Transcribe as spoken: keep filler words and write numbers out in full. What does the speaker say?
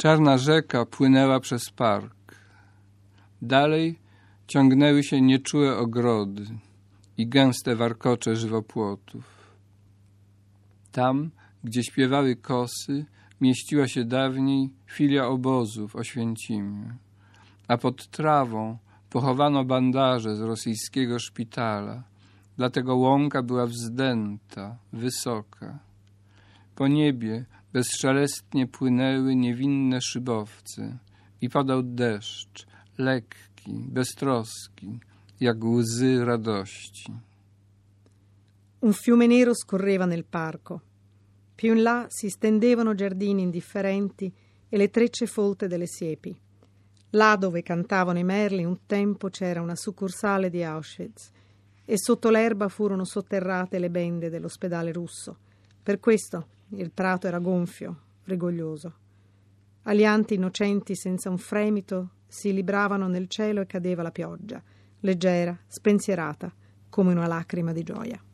Czarna rzeka płynęła przez park. Dalej ciągnęły się nieczułe ogrody i gęste warkocze żywopłotów. Tam, gdzie śpiewały kosy, mieściła się dawniej filia obozu w Oświęcimiu, a pod trawą pochowano bandaże z rosyjskiego szpitala, dlatego łąka była wzdęta, wysoka. Po niebie bezszelestnie płynęły niewinne szybowce i padał deszcz, lekki, beztroski, jak łzy radości. Un fiume nero scorreva nel parco. Più in là si stendevano giardini indifferenti e le trecce folte delle siepi. Là dove cantavano i merli un tempo c'era una succursale di Auschwitz e sotto l'erba furono sotterrate le bende dell'ospedale russo. Per questo il prato era gonfio, rigoglioso. Alianti innocenti senza un fremito si libravano nel cielo e cadeva la pioggia, leggera, spensierata, come una lacrima di gioia.